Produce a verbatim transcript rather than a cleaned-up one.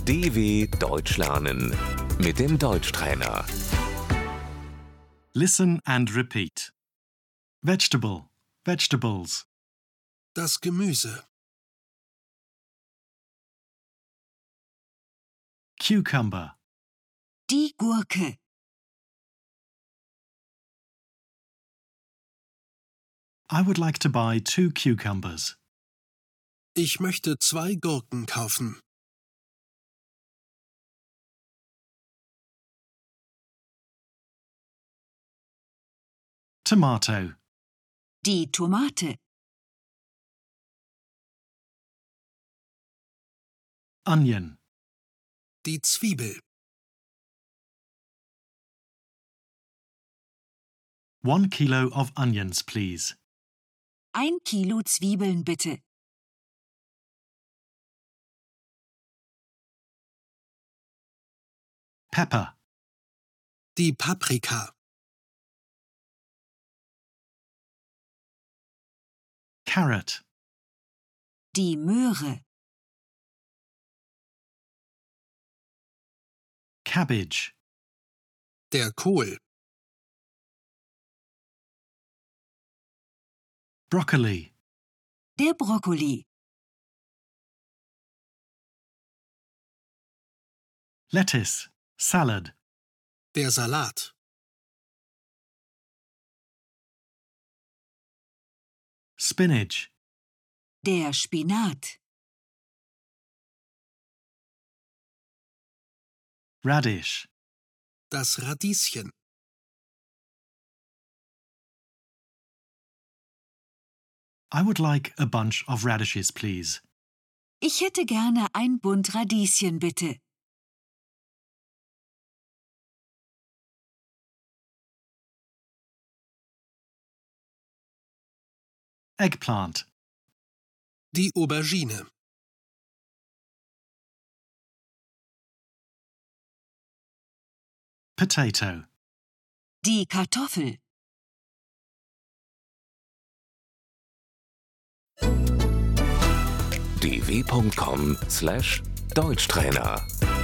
D W Deutsch lernen mit dem Deutschtrainer. Listen and repeat. Vegetable, vegetables. Das Gemüse. Cucumber, Die Gurke. I would like to buy two cucumbers. Ich möchte zwei Gurken kaufen. Tomato, Die Tomate. onion, Die Zwiebel. one kilo of onions, please. Ein Kilo Zwiebeln bitte. Pepper, Die Paprika. carrot, Die Möhre. cabbage, Der Kohl. broccoli, Der Brokkoli. lettuce, salad, Der Salat. spinach, Der Spinat. radish, Das Radieschen. I would like a bunch of radishes, please. Ich hätte gerne ein Bund Radieschen bitte. Eggplant, Die Aubergine. potato, Die Kartoffel. d w punkt com slash Deutschtrainer